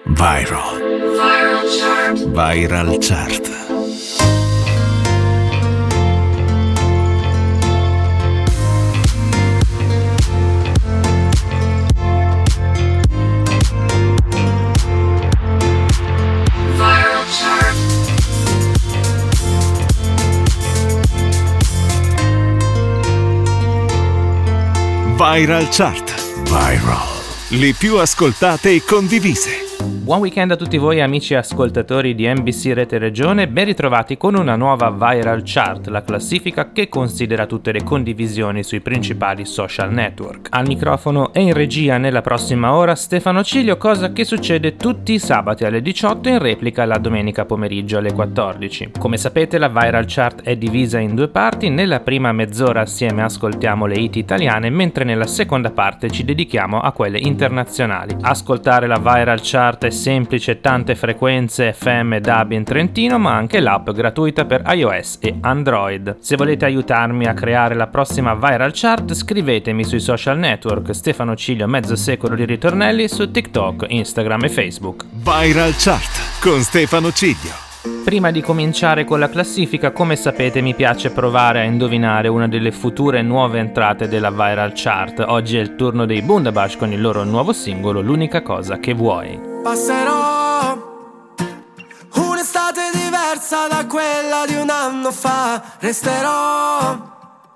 Viral. Viral Chart. Viral Chart. Viral Chart. Viral. Le più ascoltate e condivise. Buon weekend a tutti voi amici ascoltatori di NBC Rete Regione, ben ritrovati con una nuova Viral Chart, la classifica che considera tutte le condivisioni sui principali social network. Al microfono e in regia nella prossima ora Stefano Cilio, cosa che succede tutti i sabati alle 18 in replica la domenica pomeriggio alle 14. Come sapete la Viral Chart è divisa in due parti, nella prima mezz'ora assieme ascoltiamo le hit italiane, mentre nella seconda parte ci dedichiamo a quelle internazionali. Ascoltare la Viral Chart è semplice, tante frequenze FM e DAB in Trentino, ma anche l'app gratuita per iOS e Android. Se volete aiutarmi a creare la prossima Viral Chart, scrivetemi sui social network Stefano Cilio mezzo secolo di ritornelli su TikTok, Instagram e Facebook. Viral Chart con Stefano Cilio. Prima di cominciare con la classifica, come sapete mi piace provare a indovinare una delle future nuove entrate della Viral Chart. Oggi è il turno dei Bundabash con il loro nuovo singolo L'unica cosa che vuoi. Passerò un'estate diversa da quella di un anno fa. Resterò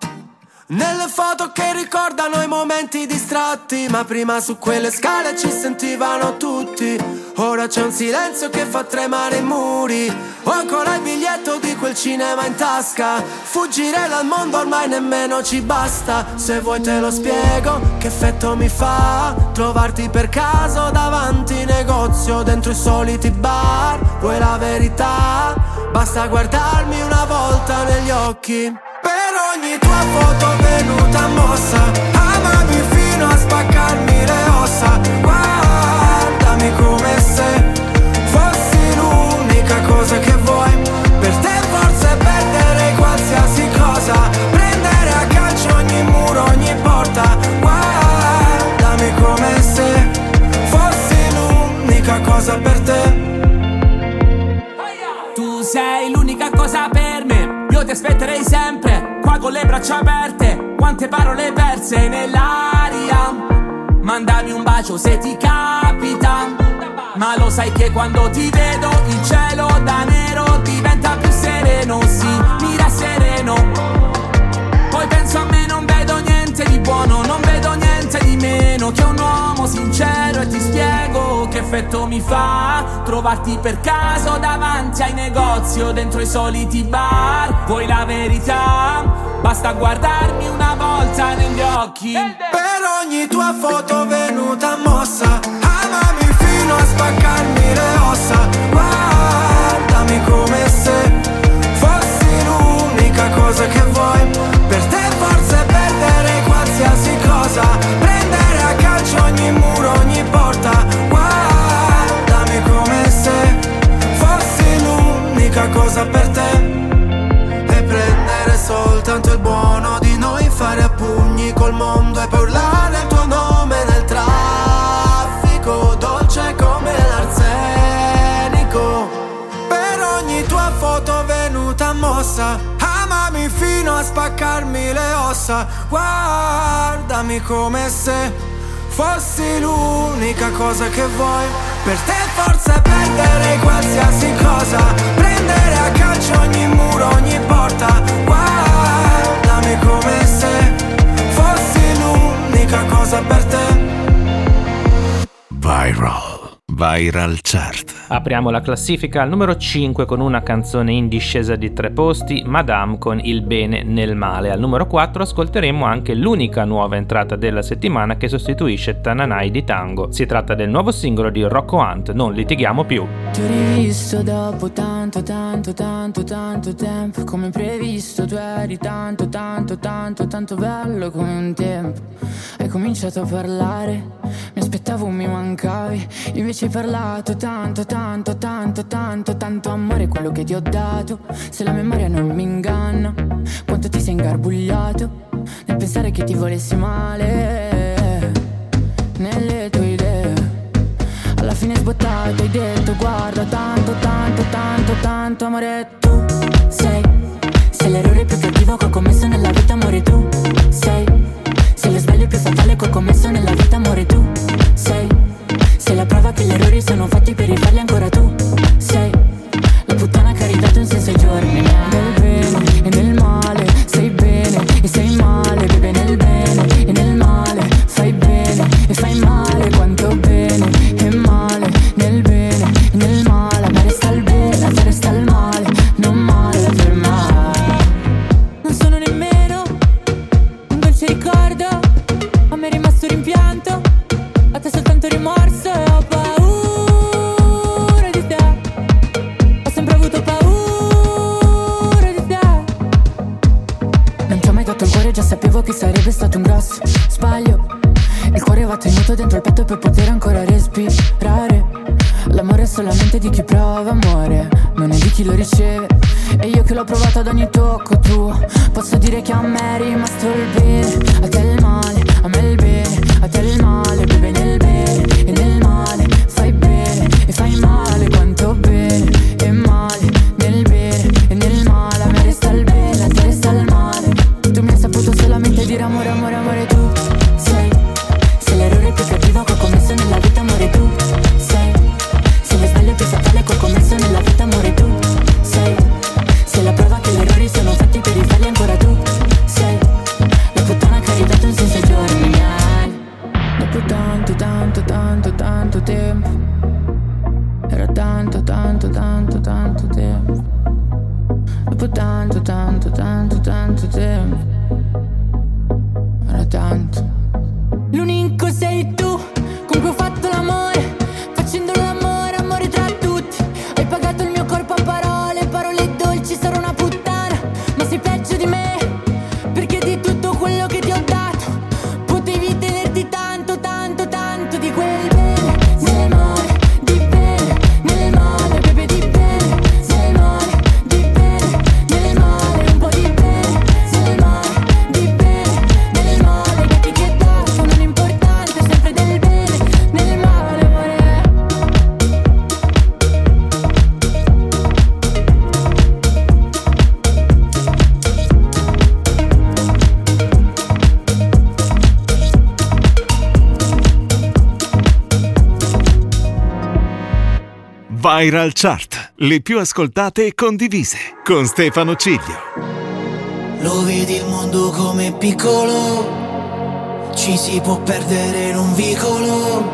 nelle foto che ricordano i momenti distratti, ma prima su quelle scale ci sentivano tutti. Ora c'è un silenzio che fa tremare i muri. Ho ancora il biglietto di quel cinema in tasca. Fuggire dal mondo ormai nemmeno ci basta. Se vuoi te lo spiego che effetto mi fa trovarti per caso davanti negozio, dentro i soliti bar. Vuoi la verità? Basta guardarmi una volta negli occhi. Per ogni tua foto venuta mossa, amami fino a spaccarmi le ossa. Guardami come se fossi l'unica cosa che vuoi. Per te forse perdere qualsiasi cosa, prendere a calcio ogni muro, ogni porta. Guardami come se fossi l'unica cosa per te. Tu sei l'unica cosa per me, io ti aspetterei sempre, qua con le braccia aperte. Quante parole perse nell'aria, mandami un bacio se ti capita. Ma lo sai che quando ti vedo il cielo da nero diventa più sereno, sì, mi rassereno. Poi penso a me, non vedo niente di buono, non vedo niente di meno che un uomo sincero. E ti spiego che effetto mi fa trovarti per caso davanti ai negozi o dentro i soliti bar. Vuoi la verità? Basta guardarmi una volta negli occhi. Per ogni tua foto venuta mossa, amami fino a spaccarmi le ossa. Guardami come se fossi l'unica cosa che vuoi. Per te forse perdere qualsiasi cosa, prendere a calcio ogni muro, ogni porta. Guardami come se fossi l'unica cosa per te. E prendere soltanto il buono di noi, fare a pugni col mondo e poi urlare il tuo nome nel traffico, dolce come l'arsenico. Per ogni tua foto venuta mossa, amami fino a spaccarmi le ossa. Guardami come se fossi l'unica cosa che vuoi. Per te forse perdere qualsiasi cosa, prendere a calcio ogni muro, ogni porta. Guardami come se fossi l'unica cosa per te. Viral Chart. Apriamo la classifica al numero 5 con una canzone in discesa di 3 posti, Madame con Il bene nel male. Al numero 4 ascolteremo anche l'unica nuova entrata della settimana che sostituisce Tananai di Tango. Si tratta del nuovo singolo di Rocco Hunt, Non litighiamo più. Ti ho rivisto dopo tanto tempo, come previsto tu eri tanto bello come un tempo. Hai cominciato a parlare, mi aspettavo mi mancavi, invece hai parlato tanto amore, quello che ti ho dato. Se la memoria non mi inganna, quanto ti sei ingarbugliato nel pensare che ti volessi male. Nelle tue idee, alla fine sbottato hai detto guarda tanto, tanto, tanto, tanto amore. Tu sei l'errore più cattivo che ho commesso nella vita, amore. Tu sei lo sbaglio più fatale che ho commesso nella vita, amore. Tu sei la prova che gli errori sono fatti per rifarli ancora. Tu sei la puttana che ha ridato un senso ai giorni miei. Nel bene e nel male sei bene e sei male, bebe nel bene e nel male fai bene e fai male. Quanto bene e male, nel bene e nel male. A me resta il bene, a te resta il male, non male per mai. Non sono nemmeno un dolce ricordo, a me è rimasto rimpianto, a te soltanto rimorso e ho paura di te. Ho sempre avuto paura di te. Non ti ho mai dato il cuore, già sapevo che sarebbe stato un grosso sbaglio. Il cuore va tenuto dentro il petto per poter ancora respirare. L'amore è solamente di chi prova amore, non è di chi lo riceve. E io che l'ho provato ad ogni tocco tuo, posso dire che a me è rimasto il bene, a te il male, a me il bene, a te il male, bebe nel bene e nel male fai bene e fai male. Quanto bene e male, nel bene e nel male. A me resta il bene, a te resta il male. Tu mi hai saputo solamente dire amore, amore, amore. Tu sei l'errore più cattivo che ho commesso nella vita, amore. Tu sei lo sbaglio più fatale che ho commesso nella vita, amore. Tu sei la prova che gli errori sono fatti per rifarli ancora. Tu sei la puttana che ha ridato un senso ai giorni miei. Dopo tanto, tanto, tanto, tanto tempo, era tanto, tanto, tanto, tanto tempo. Dopo tanto, tanto, tanto, tanto tempo, era tanto. L'unico sei tu con cui ho fatto l'amore, facendo l'amore, amore tra tutti. Hai pagato il mio corpo a parole, parole dolci, sarò una puttana, ma sei peggio di me, perché di tutto quello che ti ho dato potevi tenerti tanto, tanto, tanto di quel bene, nel male, di bene, nel male, bebe di bene, nel male, di bene, nel male, un po' di bene, nel male, di bene, nel male, gatti che dato, non importante, sempre del bene, nel male, amore. Viral Chart, le più ascoltate e condivise, con Stefano Ciglio. Lo vedi il mondo come piccolo, ci si può perdere in un vicolo.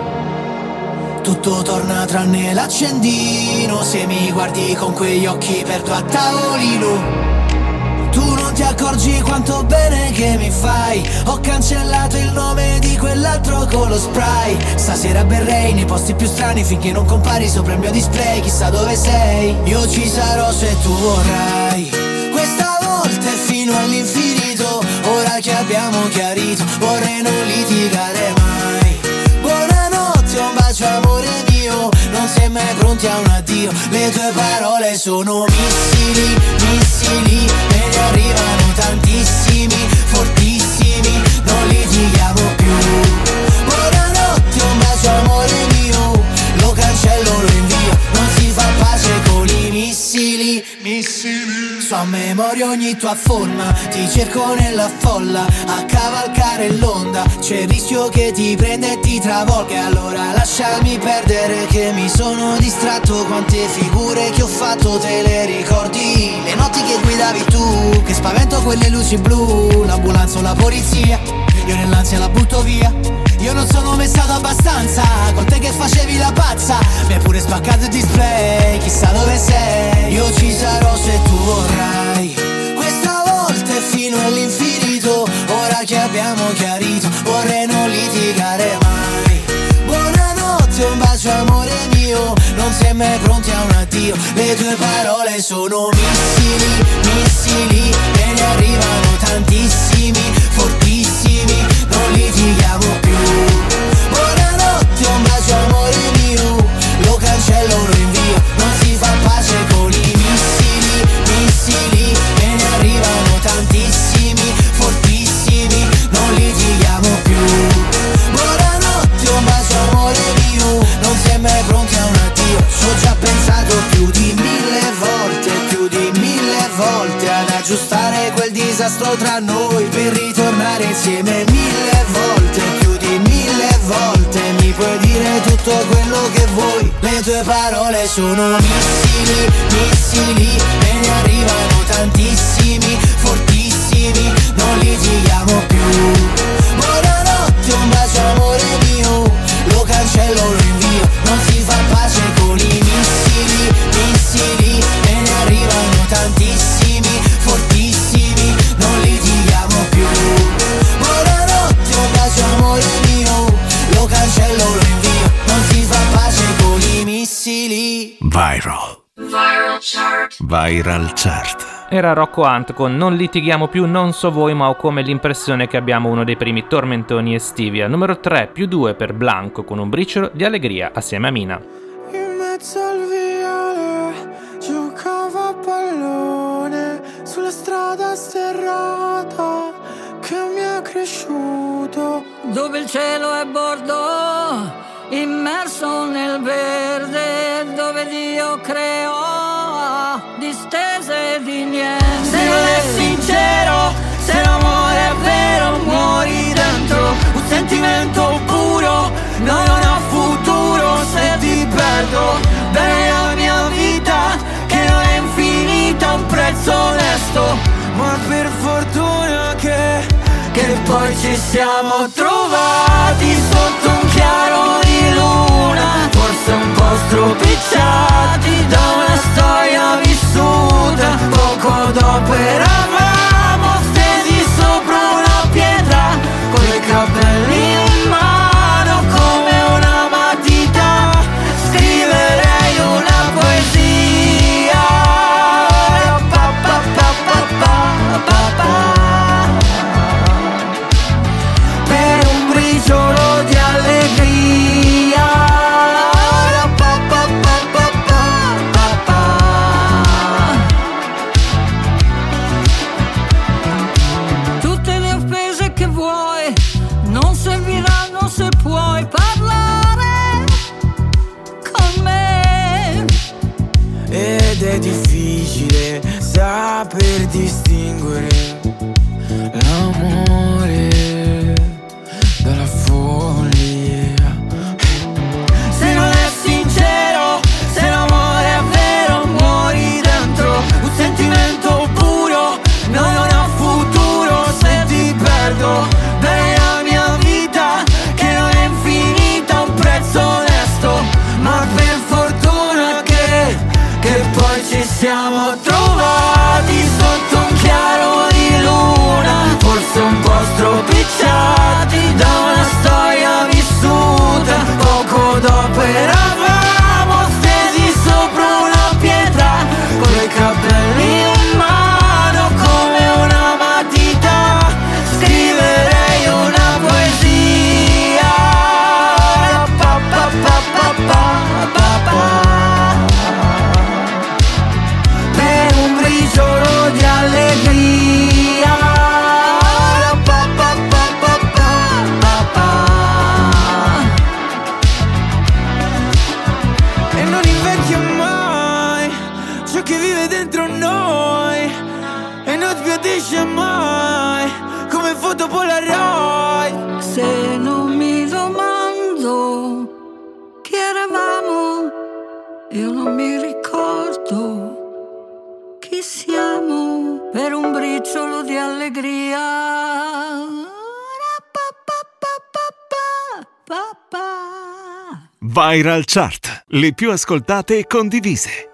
Tutto torna tranne l'accendino, se mi guardi con quegli occhi perdo a tavolino. Tu non ti accorgi quanto bene che mi fai, ho cancellato il nome di quell'altro con lo spray. Stasera berrei nei posti più strani finché non compari sopra il mio display. Chissà dove sei, io ci sarò se tu vorrai. Questa volta è fino all'infinito, ora che abbiamo chiarito, vorrei non litigare mai. Buonanotte, un bacio amore mio, non sei mai pronti a un addio. Le tue parole sono missili, missili, me ne arrivano tantissimi, fortissimi, non litighiamo più. Buonanotte, un bacio amore mio, lo cancello, lo invio, non si fa pace con i missili, missili. So a memoria ogni tua forma, ti cerco nella folla, a cavalcare l'onda, c'è il rischio che ti prenda e ti travolga. Allora lasciami perdere che mi sono distratto, quante figure che ho fatto te le ricordi? Le notti che guidavi tu, che spavento quelle luci blu, l'ambulanza o la polizia, io nell'ansia la butto via. Io non sono mai stato abbastanza, con te che facevi la pazza, mi hai pure spaccato il display, chissà dove sei. Io ci sarò se tu vorrai, questa volta è fino all'infinito, ora che abbiamo chiarito, vorrei non litigare mai. Buonanotte, un bacio amore mio, non sei mai pronti a un addio. Le tue parole sono missili, missili, me ne arrivano tantissimi, fortissimi, non litighiamo più. Buonanotte, un bacio amore mio, lo cancello, lo invio, non si fa pace con i missili, missili, me ne arrivano tantissimi, fortissimi, non litighiamo più. Buonanotte, un bacio amore mio, non sei mai pronto disastro tra noi, per ritornare insieme 1000 volte, più di 1000 volte. Mi puoi dire tutto quello che vuoi, le tue parole sono missili, missili, e ne arrivano tantissimi, fortissimi, non litighiamo più. Buonanotte, un bacio amore mio, lo cancello, lo invio, non si fa pace con i missili, missili, e ne arrivano tantissimi, fortissimi, non litighiamo più. Buonanotte, un bacio amore mio, lo cancello, lo invio, non si fa pace con i missili. Viral Chart. Viral Chart. Era Rocco Hunt con Non litighiamo più, non so voi, ma ho come l'impressione che abbiamo uno dei primi tormentoni estivi. Al numero 3, +2 per Blanco con Un briciolo di allegria assieme a Mina. In mezzo al viale giocavo a pallone sulla strada sterrata che mi è cresciuto, dove il cielo è bordo immerso nel verde, dove Dio creò distese di niente. Se non è sincero, se l'amore è vero, muori dentro un sentimento puro. No, non ha futuro se ti perdo. Bene la mia vita che non è infinita, un prezzo onesto, ma per fortuna che poi ci siamo trovati sotto un chiaro di luna, forse un po' stropicciati da una storia vissuta. Poco dopo eravamo stesi sopra una pietra, con i capelli in mano come una matita. Scriverei una poesia, pa pa pa pa pa pa pa. Solo di allegria, pa, pa, pa, pa, pa, pa. Tutte le offese che vuoi non serviranno se puoi parlare con me. Ed è difficile saper distinguere l'amore dalla follia. Se non è sincero, se l'amore è vero, muori dentro un sentimento puro. No, non ha futuro se ti perdo. Bene la mia vita che non è infinita, un prezzo onesto, ma per fortuna che poi ci siamo trovati sotto un chiaro di luna, forse un po' stropicciati da una storia vissuta. Poco dopo eravamo stesi sopra una pietra, con i capelli in mano come una matita. Scriverei una poesia, pa pa pa pa pa pa pa. Per un briciolo di allegria, pa pa pa pa pa pa. E non invecchia mai ciò che vive dentro noi, e non sbiadisce mai come foto Polaroid. Se non mi domando chi eravamo, io non mi ricordo chi siamo. Per un briciolo di allegria, pa pa pa pa pa pa. Viral Chart, le più ascoltate e condivise.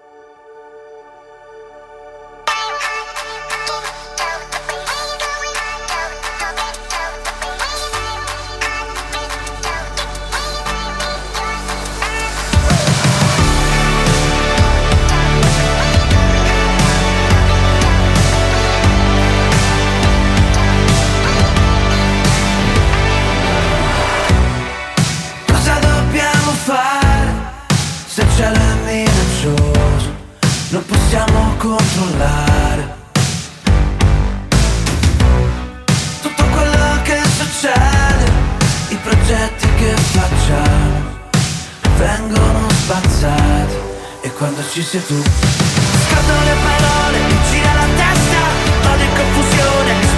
Cosa dobbiamo fare se c'è la minaccioso? Non possiamo controllare tutto quello che succede. I progetti che facciamo vengono spazzati, e quando ci sei tu scattano le parole, mi gira la testa, vado in confusione.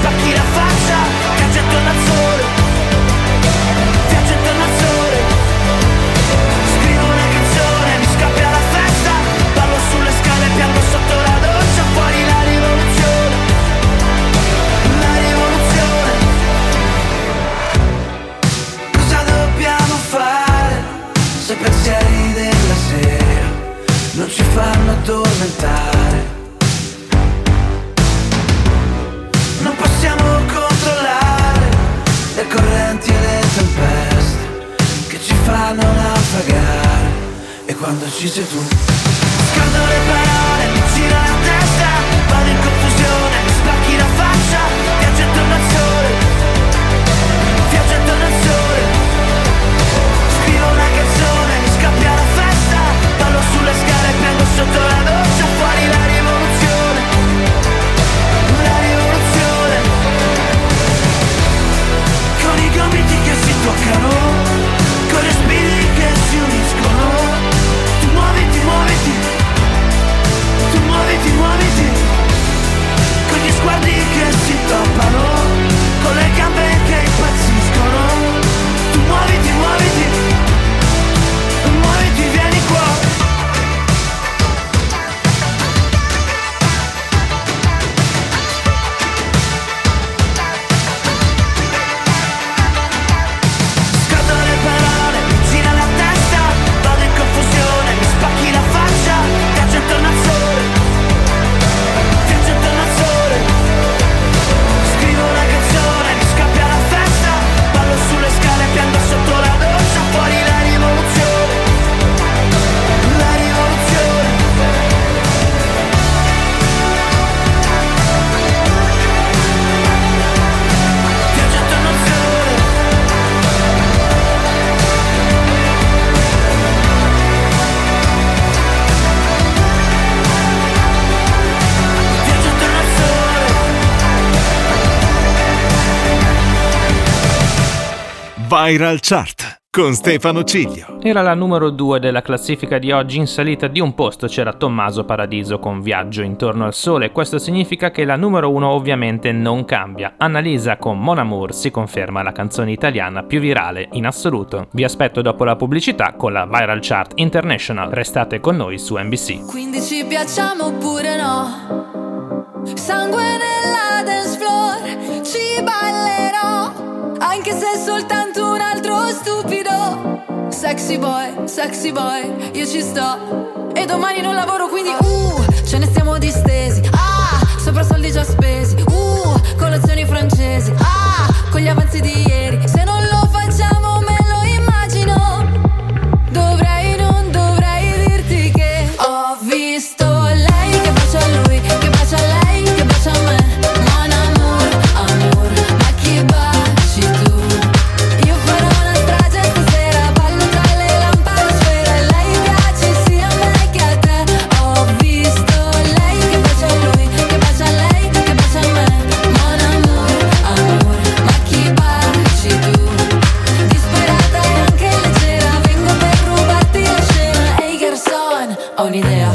quando ci sei tu. Scordo le parole, mi gira la testa, vado in confusione, mi spacchi la faccia, viaggio intorno al sole, viaggio intorno al sole. Scrivo una canzone, mi scappia la festa, ballo sulle scale, piango sotto la doccia, fuori la rivoluzione, la rivoluzione. Con i gomiti che si toccano, con i respiri che si uniscono. Tu muoviti, muoviti, tu muoviti, muoviti, con gli sguardi che si toppano, con le gambe che impazziscono. Tu muoviti, muoviti, muoviti, vieni qua. Viral Chart con Stefano Ciglio. Era la numero 2 della classifica di oggi. In salita di un posto c'era Tommaso Paradiso con Viaggio intorno al sole. Questo significa che la numero 1 ovviamente non cambia. Annalisa con Mon Amour si conferma la canzone italiana più virale in assoluto. Vi aspetto dopo la pubblicità con la Viral Chart International. Restate con noi su NBC. Quindi ci piacciamo oppure no? Sangue nella dance floor, ci ballerò, anche se è soltanto un altro stupido. Sexy boy, io ci sto. E domani non lavoro, quindi ce ne stiamo distesi. Sopra soldi già spesi. Colazioni francesi. Con gli avanzi di ieri. Se non lo facciamo me lo immagino. Non dovrei dirti che ho visto lei che bacia a lui, che bacia a lei, che bacia a me. Mon amour, amour, ma chi baci tu? Io farò una strage stasera, ballo tra le lampadosfere. Lei piace sia a me che a te. Ho visto lei che bacia a lui, che bacia a lei, che bacia a me. Mon amour, amour, ma chi baci tu? Disperata e anche leggera, vengo per rubarti la scena. Ehi garçon, ho un'idea.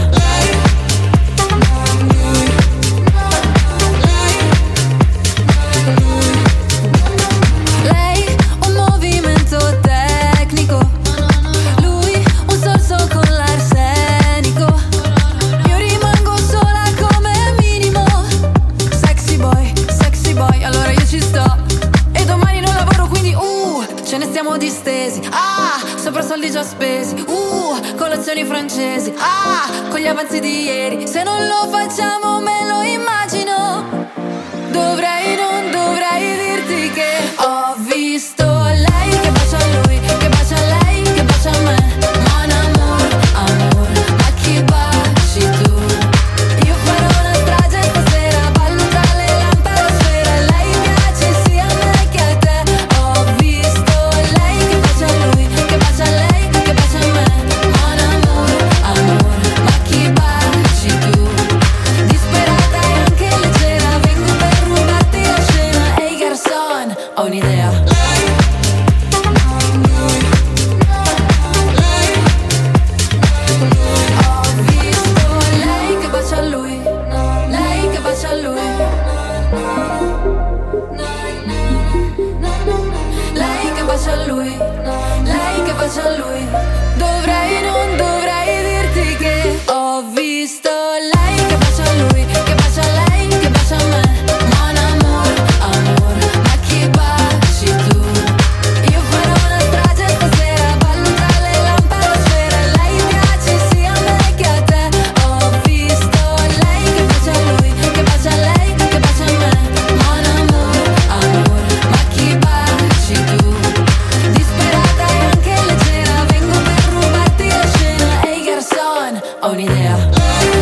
Lei un movimento tecnico, lui un sorso con l'arsenico. Io rimango sola come minimo. Sexy boy, allora io ci sto. E domani non lavoro, quindi ce ne stiamo distesi. Sopra soldi già spesi. Colazioni francesi. Con gli avanzi di ieri. Se non lo facciamo me lo immagino. Non dovrei dirti che ho visto lei che bacia a lui, che bacia a lei, che bacia a me. Mon amour, amour, ma chi baci tu? Io farò una strage stasera, ballo tra le lampadosfere. Lei piace sia a me che a te. Ho visto lei che bacia a lui, che bacia a lei, che bacia a me. Mon amour, amour, ma chi baci tu? Disperata e anche leggera, vengo ho un'idea.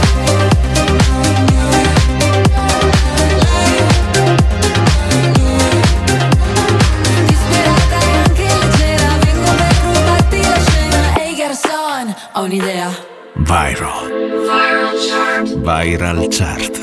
Disperata e anche leggera, vengo per rubarti la scena. Ehi garçon, ho un'idea. Viral Chart. Viral Chart.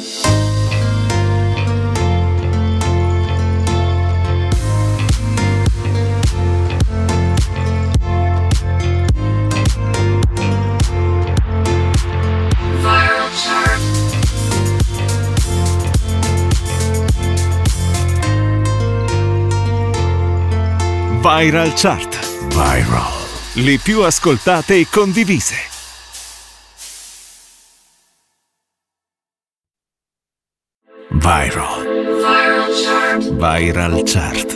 Viral Chart. Viral. Le più ascoltate e condivise. Viral. Viral Chart.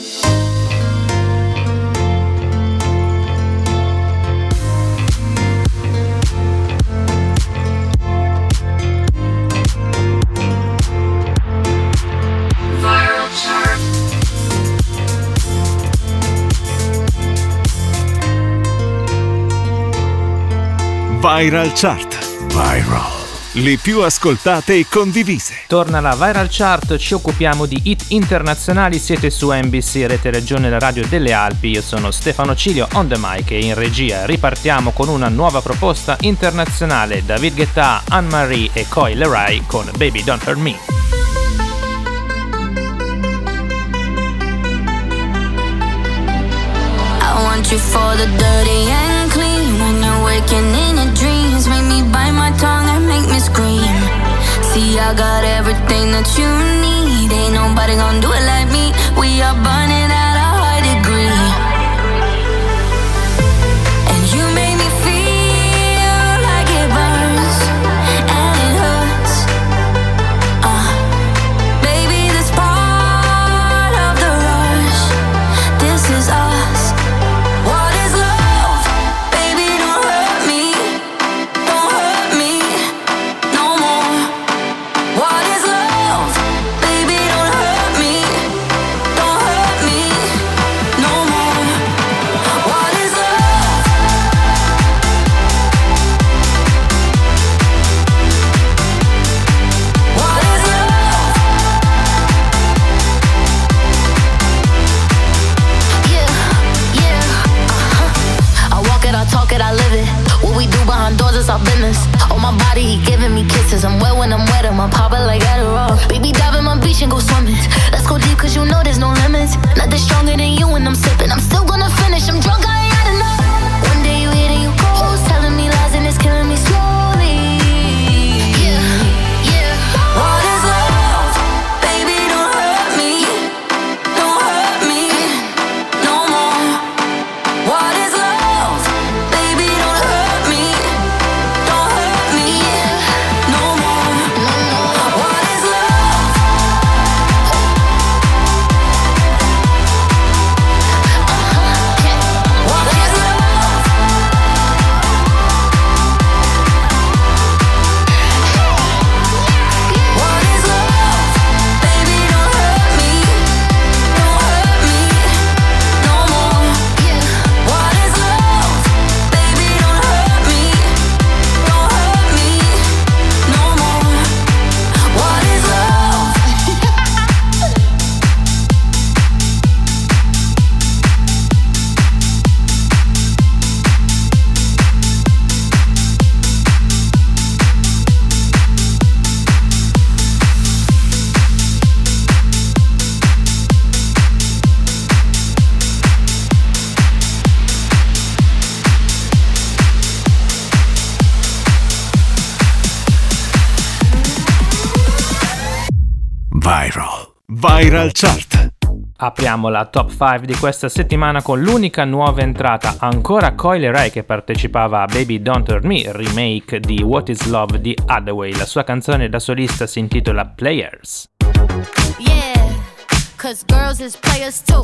Viral Chart. Viral. Le più ascoltate e condivise. Torna la Viral Chart, ci occupiamo di hit internazionali, siete su NBC Rete Regione, la radio delle Alpi, io sono Stefano Cilio on the mic e in regia ripartiamo con una nuova proposta internazionale, David Guetta, Anne-Marie e Coi Leray con Baby Don't Hurt Me. I want you for the dirty and clean. When you're waking in your dreams, make me bite my tongue and make me scream. See, I got everything that you need. Ain't nobody gonna do it like me. We are burning at a high degree. And you make me feel like it burns and it hurts. Baby, this part of the rush. This is us. What is love? Baby, don't hurt me. Don't hurt me no more. What is love? Baby, don't hurt me. Don't hurt me no more. What is love? What is love? Yeah. I walk it, I talk it, I live it. What we do behind doors is our business. On my body, he giving me kisses. I'm wet when I'm wet, I'm popping like Adderall. Baby, dive in my beach and go swimming. Let's go deep, cause you know there's no limits. Nothing stronger than you when I'm sipping. I'm still gonna finish, I'm drunk, I ain't had enough. One day you hit and you go, telling me lies and it's killing me slowly. Yeah. What is love? Baby, don't hurt me. Don't hurt me no more. What is love? Baby, don't hurt me. Don't hurt me no more. What is love? What is love? What is love? Baby, don't hurt me. Don't hurt me no more. What is love? Baby, don't hurt me. Don't hurt me no more. What is love? Viral Chart. Apriamo la top 5 di questa settimana con l'unica nuova entrata, ancora Coi Leray che partecipava a Baby Don't Hurt Me, remake di What Is Love di Hathaway. La sua canzone da solista si intitola Players. Yeah, cause girls is players too.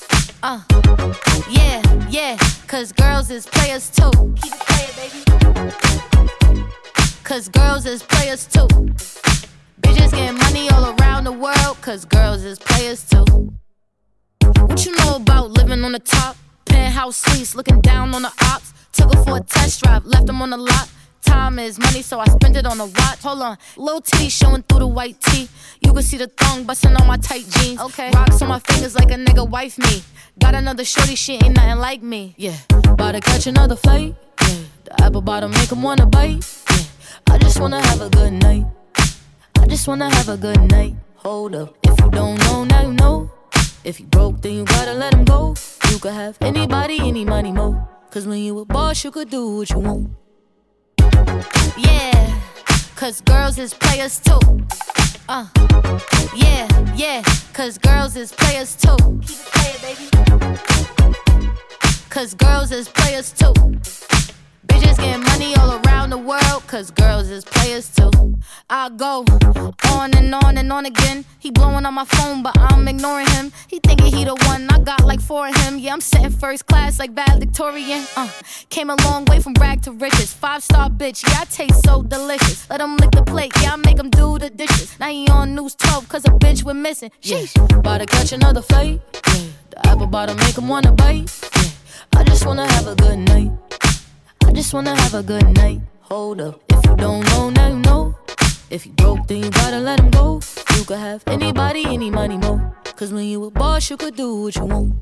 Yeah, cause girls is players too. Keep it playing, baby. Cause girls is players too. Bitches getting money all around the world, cause girls is players too. What you know about living on the top? Penthouse suites, looking down on the ops. Took her for a test drive, left them on the lot. Time is money, so I spend it on a watch. Hold on, little titty showing through the white tee. You can see the thong bustin' on my tight jeans. Okay, rocks on my fingers like a nigga wife me. Got another shorty, she ain't nothing like me. Yeah, about to catch another flight. Yeah, the apple bottom make him wanna bite. Yeah, I just wanna have a good night. I just wanna have a good night. Hold up, if you don't know, now you know. If you broke, then you gotta let him go. You could have anybody, any money, mo. Cause when you a boss, you could do what you want. Yeah, cause girls is players too. Yeah, yeah, cause girls is players too. Keep it playing, baby. Cause girls is players too. Bitches getting money all around the world, cause girls is players too. I go on and on and on again. He blowing on my phone, but I'm ignoring him. He thinking he the one, I got like 4 of him. Yeah, I'm sitting first class like valedictorian. Came a long way from rag to riches. 5-star bitch, yeah, I taste so delicious. Let him lick the plate, yeah, I make him do the dishes. Now he on News 12, cause a bitch we're missing. Sheesh, about to catch another flight. Yeah, the apple bottom make him wanna bite. Yeah, I just wanna have a good night. I just wanna have a good night. Hold up, if you don't know, now you know. If you broke, then you gotta let him go. You could have anybody, any money, mo. Cause when you a boss, you could do what you want.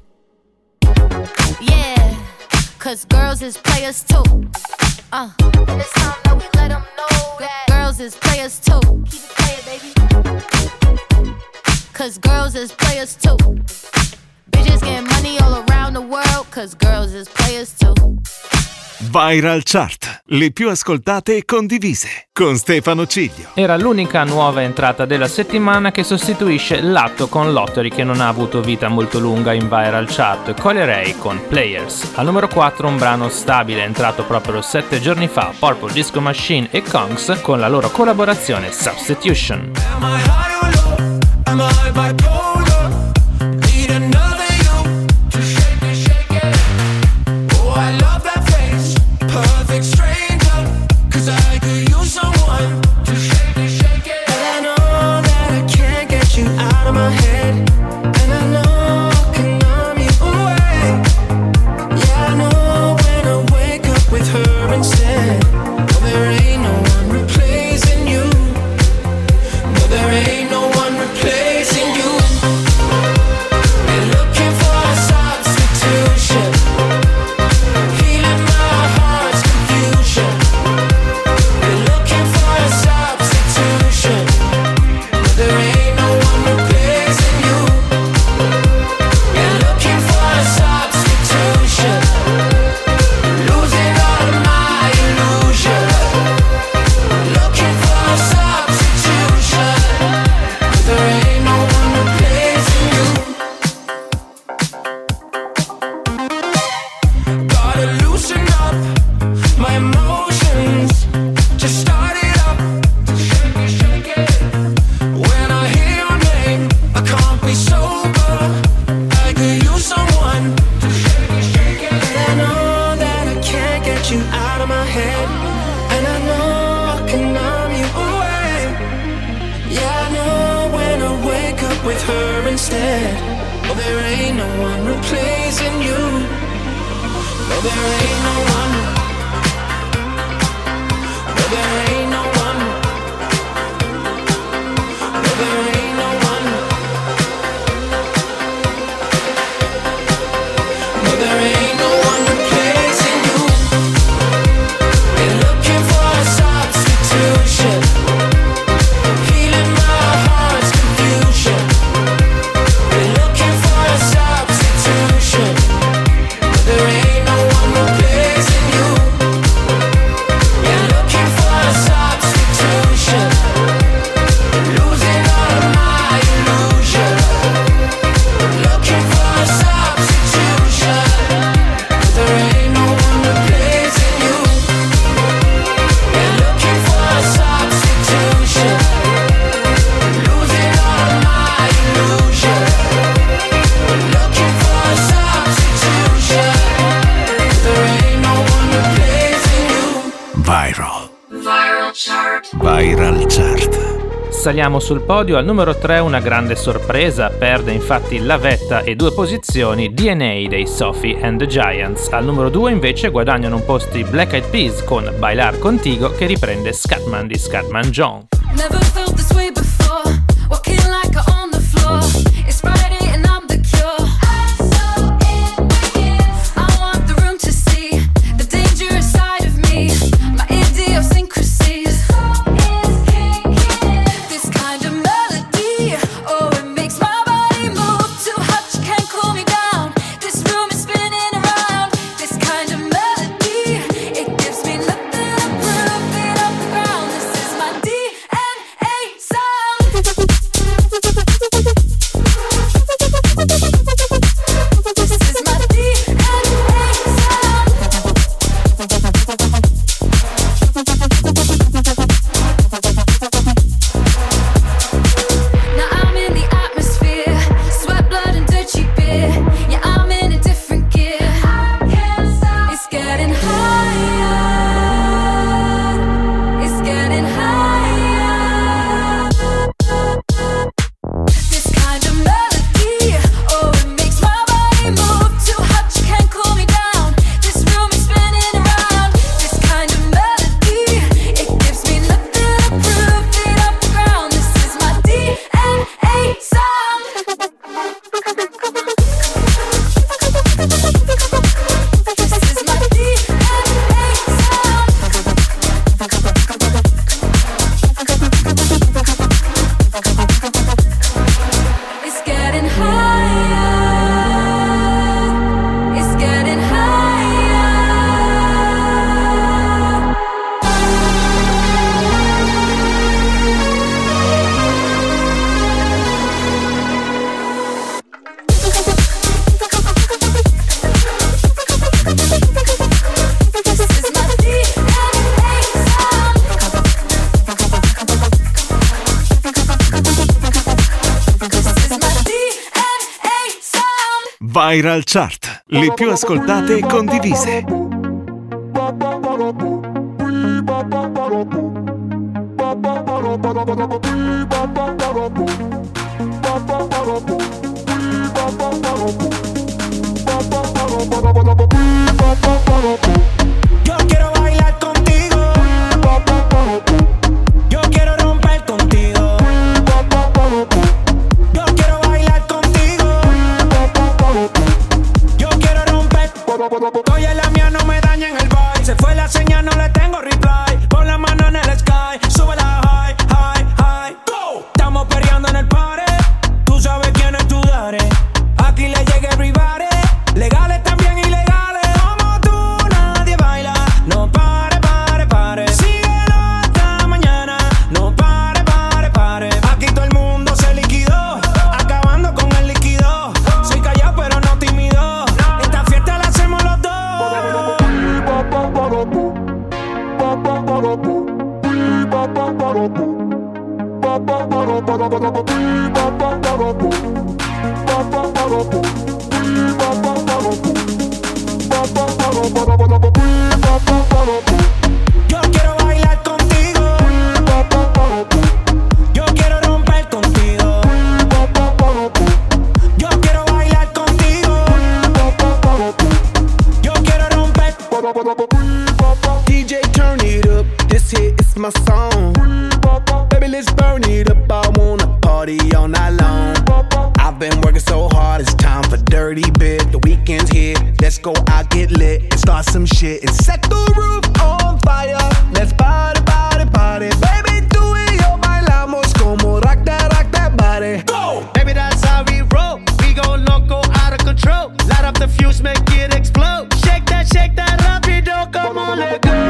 Yeah, cause girls is players too. And it's time that we let them know that girls is players too. Keep it playing, baby. Cause girls is players too. Bitches getting money all around the world, cause girls is players too. Viral Chart, le più ascoltate e condivise, con Stefano Ciglio. Era l'unica nuova entrata della settimana che sostituisce Latto con Lottery, che non ha avuto vita molto lunga in Viral Chart. Colerei con Players. Al numero 4 un brano stabile entrato proprio 7 giorni fa, Purple Disco Machine e Kongs con la loro collaborazione Substitution. Am I high or low? Am I bipolar? Need another you to shake it, shake it. Oh, I love that face. Perfect stranger, cause I could use someone to shake it, shake it. And I know that I can't get you out of my head. And I know I can numb you away. Yeah, I know when I wake up with her instead. Oh, there ain't no one replacing you. No, there ain't no one replacing you. And looking for a substitution. Healing my heart's confusion. And looking for a substitution. No, there ain't no one replacing you. And looking for a substitution. Losing all of my illusion. Looking for a substitution. There ain't no one replacing you. Gotta loosen up my emotions. Just start it up. Shake it, shake it. When I hear your name, I can't be sober. I could use someone to shake it, shake it. And I know that I can't get you out of my head. And I know I can numb you away. Yeah, I know when I wake up with her instead. Oh, there ain't no one replacing you. No, there ain't no one. No, there ain't no one. No, there ain't no one. No, there ain't no one replacing you. And looking for a substitution. Healing my heart's confusion. And looking for a substitution. No, there ain't no one replacing you. And looking for a substitution. Losing all of my illusion. Looking for a substitution. There ain't no one replacing you. And looking for a substitution. Losing all of my illusion. Looking for a substitution. There ain't no one replacing you. Viral Chart. Saliamo sul podio, al numero 3 una grande sorpresa, perde infatti la vetta e 2 posizioni DNA dei Sophie and the Giants. Al numero 2 invece guadagnano un posto i Black Eyed Peas con Bailar Contigo, che riprende Scatman di Scatman John. Never felt this way before, walking like I own the floor. It's Friday and I'm the cure. I'm so in with you. I want the room to see the dangerous side of me, my idiosyncrasies. This kind of melody, oh, it makes my body move. Too hot, you can't cool me down. This room is spinning around. This kind of melody, it gives me nothing to prove it off the ground. This is my DNA sound. This is my DNA sound. Now I'm in the atmosphere, sweat, blood, and dirty beer. Yeah, I'm in a different gear. It's getting higher. It's getting higher. This kind of melody, oh, it makes my body move. Too hot, you can't cool me down. This room is spinning around. This kind of melody, it gives me nothing to prove it off the ground. This is my DNA sound. This is my DNA sound. It's getting higher. It's getting higher. This is my DNA sound. This is my DNA sound. Viral Chart, le più ascoltate e condivise. Yo quiero bailar contigo. Yo quiero romper contigo. Yo quiero bailar contigo. Yo quiero romper. Oye, la mía no me daña en el vibe. Se fue la señal, no le tengo reply. Pon la mano en el sky. Sube la high, high, high. Go. Estamos perreando en el party. Tú sabes quién es tu daddy. Aquí le llega everybody. Legales también ilegales. Como tú nadie baila. No pare, pare, pare. Síguelo hasta mañana. No pare, pare, pare. Aquí todo el mundo se liquidó. Acabando con el líquido. Soy callado pero no tímido. Esta fiesta la hacemos los dos. Yo quiero bailar contigo. Yo quiero romper contigo. Yo quiero bailar contigo. Yo quiero romper. DJ, turn it up. This hit is my song. Baby, let's burn it up. I wanna party all night long. I've been working so hard, it's time for dirty bit. The weekend's here, let's go out, get lit, and start some shit and set the roof on fire. Let's party, party, party. Baby, tú y yo bailamos como rock that body. Go. Baby, that's how we roll. We go loco, out of control. Light up the fuse, make it explode. Shake that rapido, come on, let go.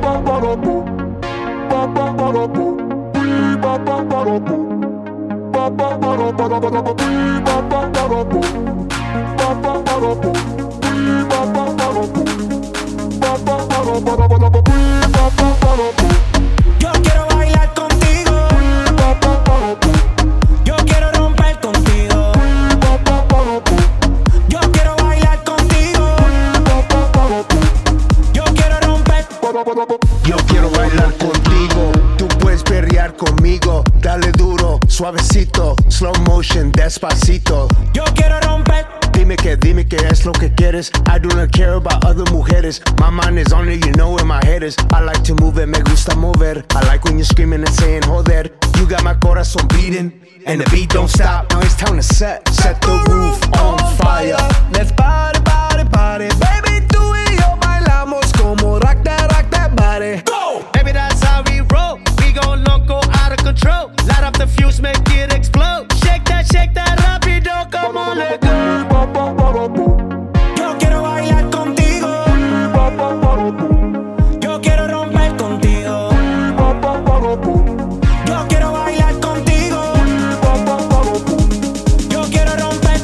Yo quiero bailar contigo. Yo quiero romper contigo. Yo quiero bailar contigo. Yo quiero romper. Yo quiero bailar contigo. Tú puedes perrear conmigo, dale duro, suavecito, slow motion, despacito. Yo quiero romper. Dime que es lo que quieres. I do not care about other mujeres. My mind is on it, you know where my head is. I like to move it, me gusta mover. I like when you're screaming and saying joder. You got my corazón beating, and the beat don't stop. Now it's time to set the roof on fire. Let's party, party, party. Baby, tú y yo bailamos como rock that body. Go! Baby, that's how we roll. We gon' loco out of control. Light up the fuse, make it explode. Shake that rapido, come on, let go. Yo quiero bailar contigo. Yo quiero romper contigo. Yo quiero bailar contigo. Yo quiero romper.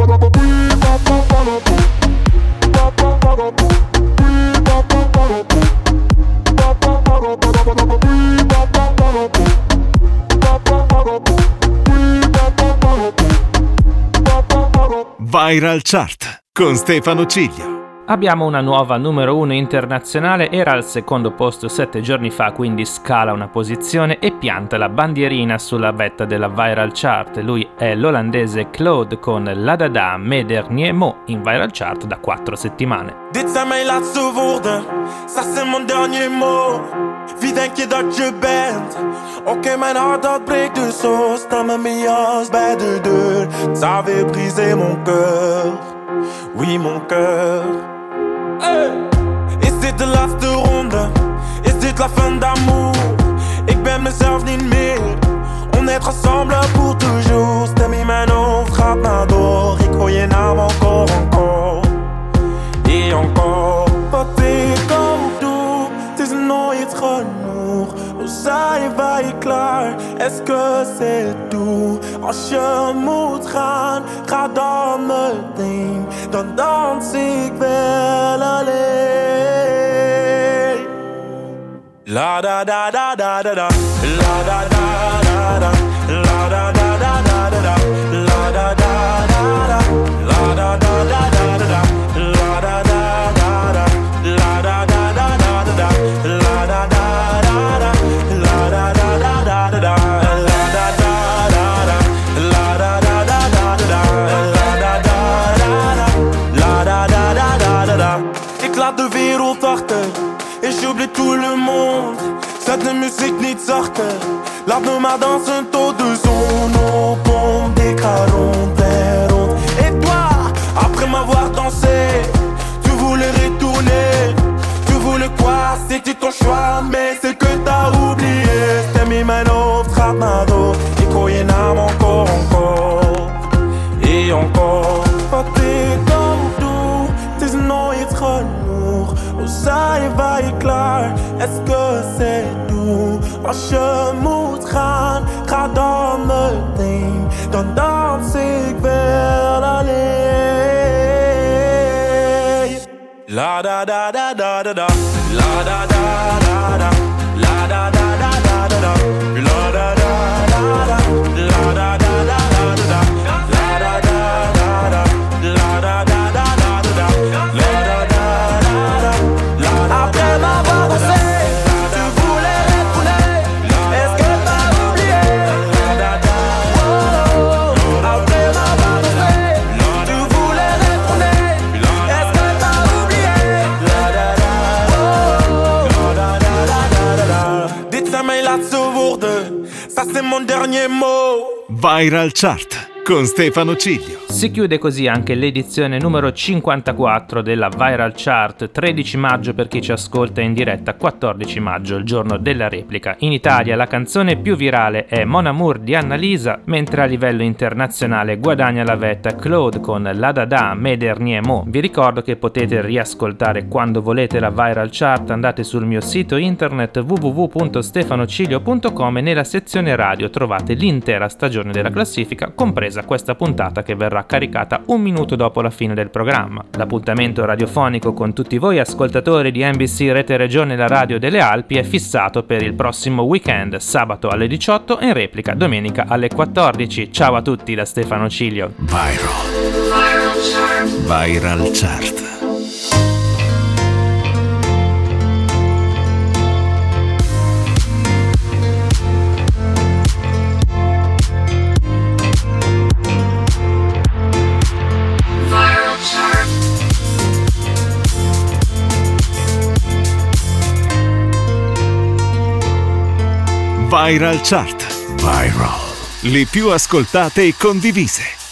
Viral Chart con Stefano Ciglio. Abbiamo una nuova numero 1 internazionale, era al secondo posto 7 giorni fa, quindi scala una posizione e pianta la bandierina sulla vetta della Viral Chart. Lui è l'olandese Claude con La Dada Mes Derniers Mots in Viral Chart da 4 settimane. Dit zijn mijn laatste woorden, ça c'est mon dernier mot. Wie denk je dat je bent? Oké, mijn hart dat breekt dus zo. Sta met mijn jas bij de deur. Ça avait brisé mon cœur. Oui, mon cœur. Hey. Is dit de laatste ronde? Is dit la fin d'amour? Ik ben mezelf niet meer. On est ensemble pour toujours. Stem in mijn hoofd gaat maar door. Ik hoor je naam encore. Et encore. Wat ik ook doe, het is nooit genoeg. Hoe zijn je klaar? Est-ce que c'est tout? Als je moet gaan, ga dan meteen. Dan dans ik wel alleen. La da da da da da da. La da da da da. La da da da da da. La da da da da. La da da da da da. La da da da da. La da da da da da. La da da da da. La da da da da da. La da da da da. La da da da da da. La da da da da. La da da da da da. Ik laat de wereld achter. Et j'oublie tout le monde. Zet de muziek niet zachter. Laat me maar dansen tot de zon opkomt. Ik ga rond en rond. Et toi, après m'avoir dansé, tu voulais retourner. Tu voulais quoi? C'était ton choix, mais c'est que t'as oublié. Stem in mijn hoofd gaat maar door. Ik hoor je naam encore. Et encore. Wat ik ook doe, het is nooit genoeg. Hoe zijn je klaar? Est-ce que c'est tout? Als je moet gaan, ga dan meteen. Dan dans ik wel alleen. La da da da da da da. La da da da da. La da da da da da. La da da da da. La da da da da da. La da da da da. La da da da da da. La da da da da. Après m'avoir dansé, tu voulais retourner. Est-ce que t'as oublié? Après m'avoir dansé, tu voulais retourner. Est-ce que t'as oublié? Dit zijn mijn laatste woorden, ça c'est mon dernier mot. Viral Chart con Stefano Ciglio. Si chiude così anche l'edizione numero 54 della Viral Chart, 13 maggio per chi ci ascolta in diretta, 14 maggio, il giorno della replica. In Italia la canzone più virale è Mon Amour di Annalisa, mentre a livello internazionale guadagna la vetta Claude con La Dada Mes Derniers Mots. Vi ricordo che potete riascoltare quando volete la Viral Chart, andate sul mio sito internet www.stefanociglio.com e nella sezione radio trovate l'intera stagione della classifica, compresa questa puntata che verrà caricata un minuto dopo la fine del programma. L'appuntamento radiofonico con tutti voi ascoltatori di NBC Rete Regione, la radio delle Alpi, è fissato per il prossimo weekend, sabato alle 18 e in replica domenica alle 14. Ciao a tutti da Stefano Ciglio. Viral Chart. Viral Chart. Viral. Le più ascoltate e condivise.